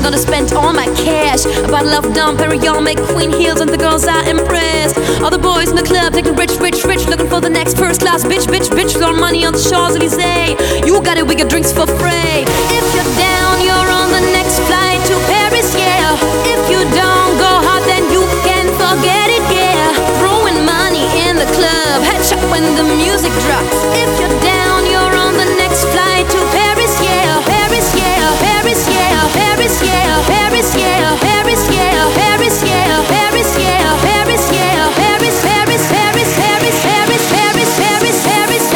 gonna spend all my cash. A bottle of Dom Perignon, make queen heels, and the girls are impressed. All the boys in the club taking rich, looking for the next first class bitch. Throwing money on the Champs-Élysées. You got it, we got drinks for free. If you're down, you're on the next flight to Paris, yeah. If you don't go hard, then you can forget it, yeah. Throwing money in the club, headshot when the music drops. If you're down, you're on the next flight to Paris, yeah. Paris, yeah. Paris, yeah. Paris, yeah. Paris, yeah. Paris, yeah. Paris, yeah. Paris, yeah. Paris, yeah. Paris, Paris, Paris, Paris, Paris, Paris, Paris, Paris,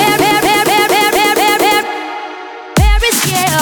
Paris, yeah.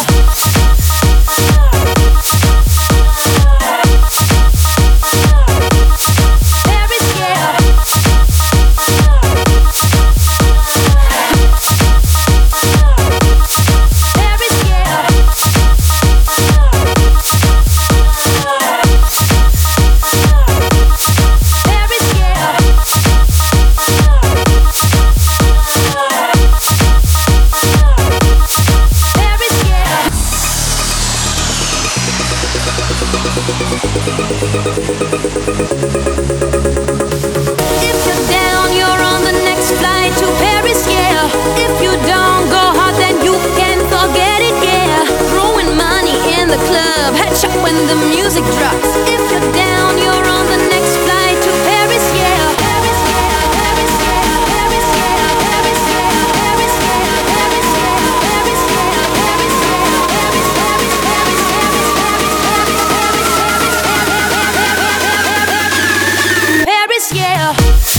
If you're down, you're on the next flight to Paris, yeah. If you don't go hard, then you can forget it, yeah. Throwing money in the club, headshot when the music drops. If you're down, you're on the next flight to Paris, yeah. Paris, yeah. Paris, yeah. Paris, yeah. Paris, yeah. Paris, yeah. Paris, yeah. Paris, yeah. Paris, yeah. Paris, Paris, Paris, Paris, Paris, Paris, Paris, Paris, yeah.